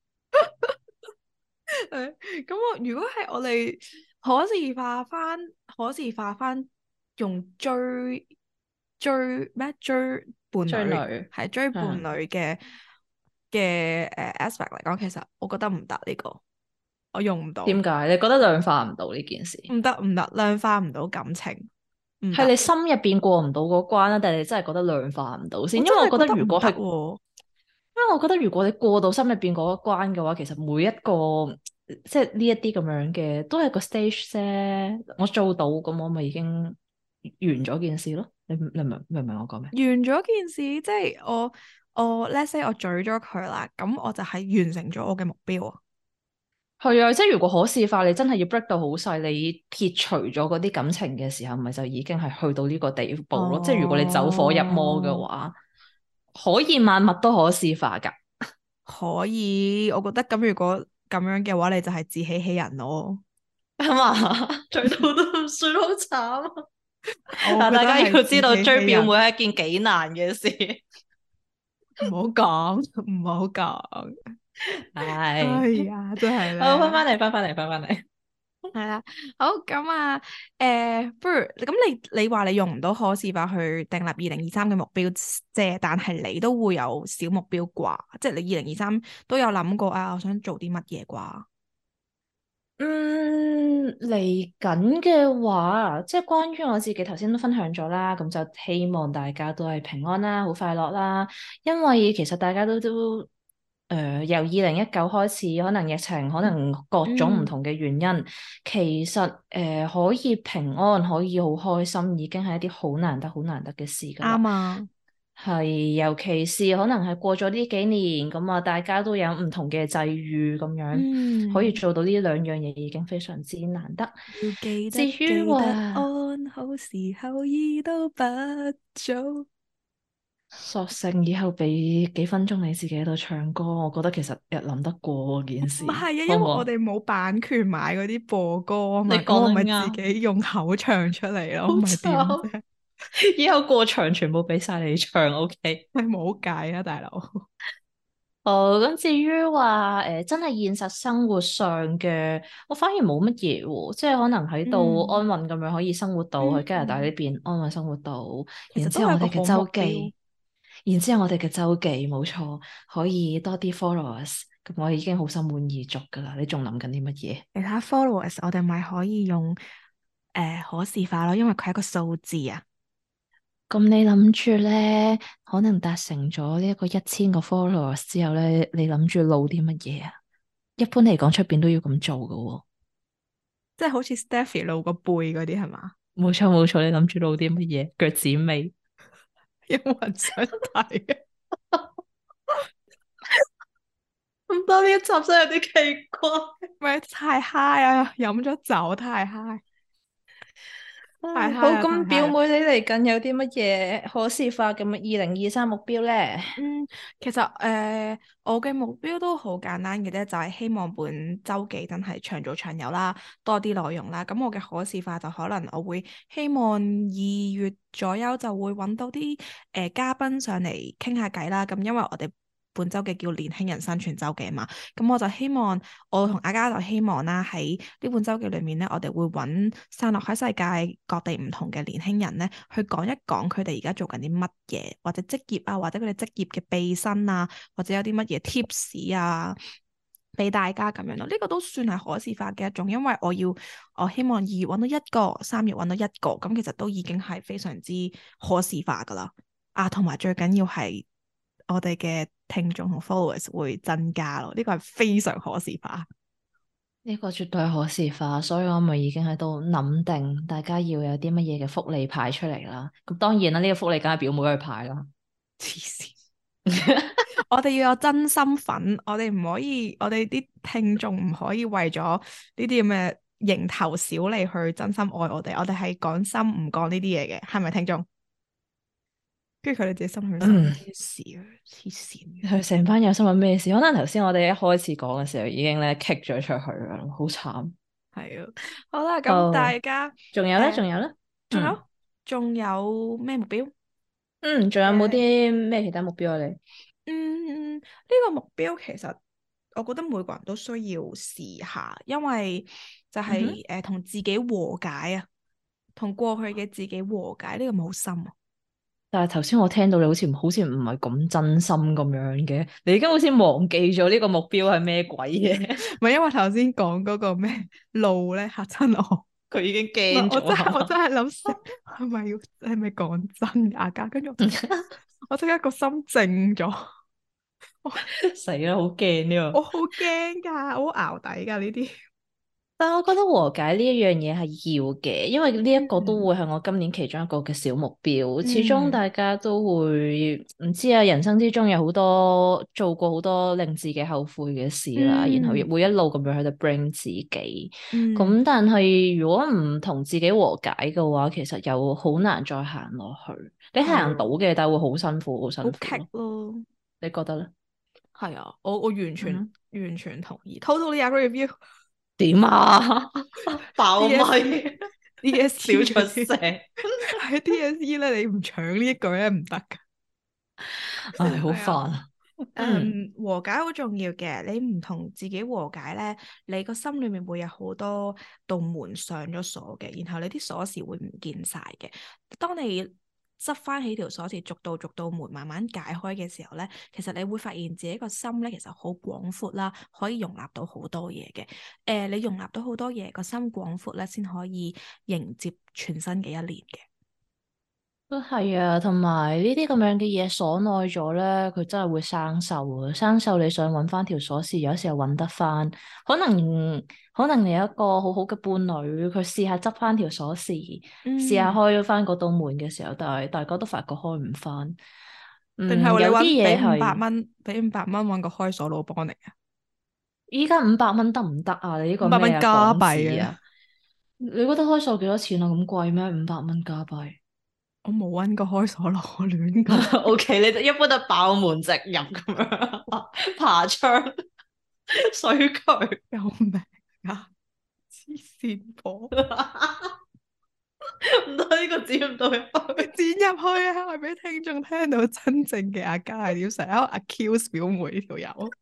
S1: 咁我如果係我哋可視化翻，可視化翻用追咩追伴侶，
S2: 追女，
S1: 係追伴
S2: 嗯，
S1: 侶嘅aspect 嚟講，其實我覺得唔得呢個。 我用唔到，
S2: 點解？你覺得量化唔到呢件事？
S1: 唔得，量化唔到感情，唔得，
S2: 係你心入邊過唔到嗰關啦，定係你真係覺得量化唔到先？
S1: 我真
S2: 因為我覺得
S1: 係覺得唔
S2: 如果係，
S1: 得喎。
S2: 因為我覺得如果你過到心入邊嗰一關嘅話，其實每一個即係呢一啲咁樣嘅，都係個 stage 啫。我做到，咁我咪已經完咗件事咯。你明唔明我講咩？
S1: 完咗件事，即係我 let's say 我咀咗佢啦，咁我就係完成咗我嘅目標啊。
S2: 係啊，即係如果可視化，你真係要 break 到好細，你撇除咗嗰啲感情嘅時候，咪就已經係去到呢個地步咯。即係如果你走火入魔嘅
S1: 哦，
S2: 話，可以萬物都可視化㗎。
S1: 可以，我覺得咁如果咁樣嘅話，你就係自欺欺人咯。
S2: 係嘛？追到都唔算好慘啊！
S1: 我
S2: 但大家
S1: 覺得係
S2: 要知道
S1: 自欺欺人，
S2: 追表妹係一件幾難嘅事。
S1: 唔好講，唔好講。
S2: 係，
S1: 哎呀，真係
S2: 好，翻
S1: 咧。
S2: 返嚟，翻返嚟。
S1: 係啦，好咁啊，不如咁你話你用唔到可視化去訂立2023嘅目標啫，但係你都會有小目標啩，即係你2023都有諗過啊，我想做啲乜嘢啩？
S2: 嚟緊嘅話，即係關於我自己頭先都分享咗啦，咁就希望大家都係平安啦，好快樂啦。因為其實大家都由2019開始，可能疫情，可能各種唔
S1: 嗯，
S2: 同嘅原因，其實可以平安，可以好開心，已經係一啲好難得、好難得嘅事㗎啦。
S1: 啱啊，
S2: 係，尤其是可能係過咗呢幾年，咁啊，大家都有唔同嘅際遇咁樣，可以
S1: 嗯，
S2: 做到呢兩樣嘢已經非常之難得。
S1: 要記得
S2: 至於
S1: 記得
S2: 話
S1: 安好時候已都不早。
S2: 索性以後俾幾分鐘你自己喺度唱歌，我覺得其實日諗得過件事，
S1: 唔係啊，因為
S2: 好唔好？
S1: 我哋冇版權買嗰啲播歌啊嘛，咁
S2: 你講得
S1: 我咪自
S2: 啱，
S1: 己用口唱出嚟咯，
S2: 好
S1: 唔係點
S2: 慘，
S1: 啫？
S2: 以後過場全部俾晒你唱，OK？
S1: 係冇計啊，大佬。
S2: 哦，咁至於話真係現實生活上嘅，我反而冇乜嘢喎，即係可能喺度
S1: 嗯
S2: 安穩咁樣可以生活到去加拿大呢
S1: 嗯，
S2: 邊安穩生活到，
S1: 其實
S2: 然
S1: 都係一個
S2: 之後我哋嘅
S1: 好目標。
S2: 周記，然之後我哋嘅周記冇錯，可以多啲 followers，咁我已經好心滿意足噶啦，你仲諗緊啲乜嘢？
S1: 其他 followers 我哋咪可以用可視化咯，因為佢係一個數字啊。
S2: 咁你諗住咧，可能達成咗呢一個1000個 followers 之後咧，你諗住露啲乜嘢啊？一般嚟講，出邊都要咁做噶喎。
S1: 即係好似 Stephy 露個背嗰啲係嘛？
S2: 冇錯冇錯，你諗住露啲乜嘢？腳趾尾，
S1: 有冇人想睇啊？
S2: 唔得，呢一集真係有啲奇怪。
S1: 咪太 high 啊！飲咗酒太 high，太
S2: 唉，好，
S1: high 啊！太
S2: 咁
S1: high 啊！
S2: 表妹你嚟緊有啲乜嘢可視化嘅2023目標咧？
S1: 嗯，其實我嘅目標都好簡單嘅啫，就係希望本周記真係長做長有啦，多啲內容啦。咁我嘅可視化就可能我會希望2月左右就會揾到啲嘉賓上嚟傾下偈啦。咁因為我哋本周記叫年輕人生存周記啊嘛，咁我就希望我同阿嘉就希望啦，喺呢本周記裏面咧，我哋會揾散落喺世界各地唔同嘅年輕人咧，去講一講佢哋而家做緊啲乜嘢，或者職業啊，或者佢哋職業嘅秘辛啊，或者有啲乜嘢 tips 啊，俾大家咁樣咯。呢個都算係可視化嘅一種，因為我希望2月揾到一個，3月揾到一個，咁其實都已經係非常之可視化噶啦。啊，同埋最緊要係我哋嘅聽眾同 followers 會增加咯，呢個係非常可視化。
S2: 呢個絕對係可視化，所以我咪已經喺度諗定，大家要有啲乜嘢嘅福利派出嚟啦。咁當然啦，呢個福利梗係表妹去派啦。
S1: 黐線！我哋要有真心粉，我哋唔可以，我哋啲聽眾唔可以為咗呢啲咁嘅蠅頭小利去真心愛我哋係講心唔講呢啲嘢嘅，係咪聽眾？跟住佢哋自己心裏面諗
S2: 嗯，
S1: 咩事啊？黐線嘅，
S2: 佢成班有新聞咩事？可能頭先我哋一開始講嘅時候已經咧 kick 咗出去啦，好慘。
S1: 係啊。好啦，咁
S2: 好，
S1: 大家
S2: 仲有咧，仲有咧，
S1: 仲
S2: 嗯
S1: 有仲有咩目標？
S2: 嗯，仲有冇
S1: 誒
S2: 啲咩其他目標啊？你？
S1: 呢個目標其實我覺得每個人都需要試下，因為就
S2: 嗯哼。
S1: 係同自己和解啊，同過去嘅自己和解，呢個咪好深啊。
S2: 但係頭先我聽到你好似唔係咁真心咁樣嘅，你已經好似忘記咗呢個目標係咩鬼嘢？
S1: 唔係因為頭先講嗰個咩路咧嚇親我，
S2: 佢已經
S1: 唔係
S2: 驚咗係嘛？
S1: 我真係諗死係咪講真㗎阿嘉？跟住我即刻個心靜咗，
S2: 死啦，好驚呢個！
S1: 我好驚㗎，我好淆底㗎呢啲。
S2: 但係我覺得和解呢一樣嘢係要嘅，因為呢一個都
S1: 嗯
S2: 會係我今年其中一個嘅小目標。始終
S1: 嗯
S2: 大家都會唔知啊，人生之中有好多做過好多令自己後悔嘅事啦，然後亦
S1: 嗯
S2: 會一路咁樣喺度 bring 自己。
S1: 嗯，
S2: 咁但係如果唔同自己和解嘅話，其實又好難再行落去。你
S1: 係啊，
S2: 行到嘅，但係會好辛苦，好辛
S1: 好
S2: 苦咯。
S1: 棘咯。
S2: 你覺得咧？
S1: 係啊，我完全
S2: 嗯，
S1: 完全同意，totally agree with you。
S2: 點啊？爆咪
S1: DSE DSE
S2: 笑出聲，
S1: 喺 DSE 咧，你唔搶呢一句咧唔得噶。
S2: 唉，好
S1: 係啊，
S2: 煩啊！嗯。
S1: 和解好重要嘅。你唔同自己和解咧，你個心裏面會有好多道門上咗鎖嘅，然後你啲鎖匙會唔見晒嘅。當你執翻起條鎖匙，逐道門慢慢解開嘅時候咧，其實你會發現自己個心咧，其實好廣闊啦，可以容納到好多嘢嘅。你容納到好多嘢，個心廣闊咧，先可以迎接全新嘅一年嘅。
S2: 都係啊，同埋呢啲咁樣嘅嘢鎖耐咗咧，佢真係會生鏽啊！生鏽你想揾翻條鎖匙，有時候揾得翻，可能你有一個好好嘅伴侶，佢試下執翻條鎖匙，試下
S1: 嗯，
S2: 開咗翻嗰道門嘅時候，但係大家都發覺開唔翻。
S1: 定係你
S2: 有啲
S1: 揾俾五百
S2: 嘢係
S1: 蚊，俾500蚊揾個開鎖佬幫你啊？
S2: 依家500蚊得唔得啊？你呢個
S1: 五百蚊
S2: 咩啊港
S1: 加幣啊！
S2: 紙啊？你覺得開鎖幾多錢啊？咁貴咩？500蚊加幣？
S1: 我冇揾過開鎖佬，我亂講。
S2: O K，你哋一般都爆門直入咁樣，爬窗、水渠，
S1: 救命啊！黐線婆，
S2: 唔得呢個剪唔到入去。
S1: 剪入去啊！係俾聽眾聽到真正嘅阿嘉係點，成日喺度 accuse 表妹呢條友。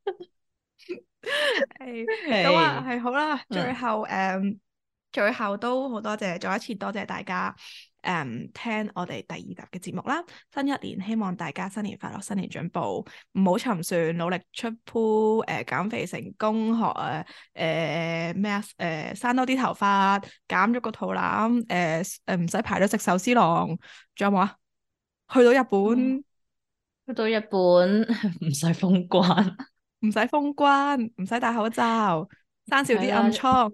S1: 係咁啊，
S2: 係，
S1: 係好啦，最
S2: 嗯，
S1: 後最後都好多謝，再一次多謝大家聽我哋第2集嘅節目啦。新一年希望大家新年快樂，新年進步，唔好沉船，努力出 pool，減肥成功，學咩啊生多啲頭髮，減咗個肚腩，唔使排咗食壽司郎，仲有冇啊？去到日
S2: 哦
S1: 本
S2: 去到日本唔使封關，
S1: 唔使封關，唔使戴口罩，生少啲
S2: 係啦，
S1: 暗瘡。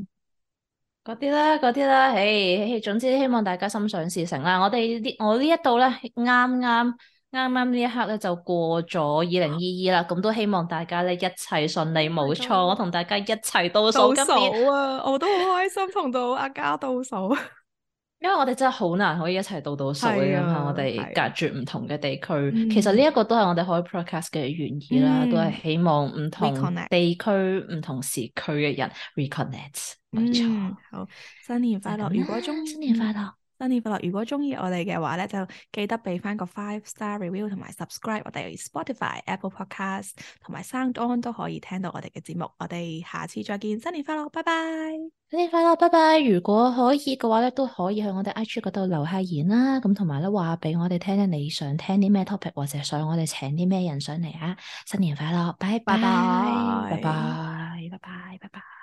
S2: 嗰啲啦，唉，總之希望大家心想事成啦。我呢一度咧，啱啱呢一刻咧就過咗2022啦，咁都希望大家咧一切順利，冇錯，我同大家一齊倒數
S1: 倒
S2: 今年。
S1: 數啊！我都好開心同到阿嘉倒數。
S2: 因為我哋真係好難可以一齊倒數，你諗下，
S1: 係啊，
S2: 我哋隔
S1: 係啊，
S2: 絕唔同嘅地區，其實呢
S1: 嗯
S2: 一個都係我哋開 podcast 嘅原意啦，都
S1: 嗯
S2: 係希望唔同
S1: ，reconnect，
S2: 地區、唔同時區嘅人 reconnect，冇錯，
S1: 好，新年快樂！
S2: 就係咁啦，
S1: 如果
S2: 新年快樂，
S1: 新年快樂！如果中意我哋嘅話咧，就記得俾翻個5-star review 同埋 subscribe 我哋 Spotify、Apple Podcast 同埋 Sound On 都可以聽到我哋嘅節目。我哋下次再見，新年快樂，拜拜！
S2: 新年快樂，拜拜！如果可以嘅話咧，都可以去我哋 IG 嗰度留下言啦，咁同埋咧話俾我哋聽咧，你想聽啲咩 topic，或者想我哋請啲咩人上嚟啊！新年快樂，拜拜，
S1: 拜
S2: 拜
S1: 拜。
S2: 拜，拜拜，拜拜。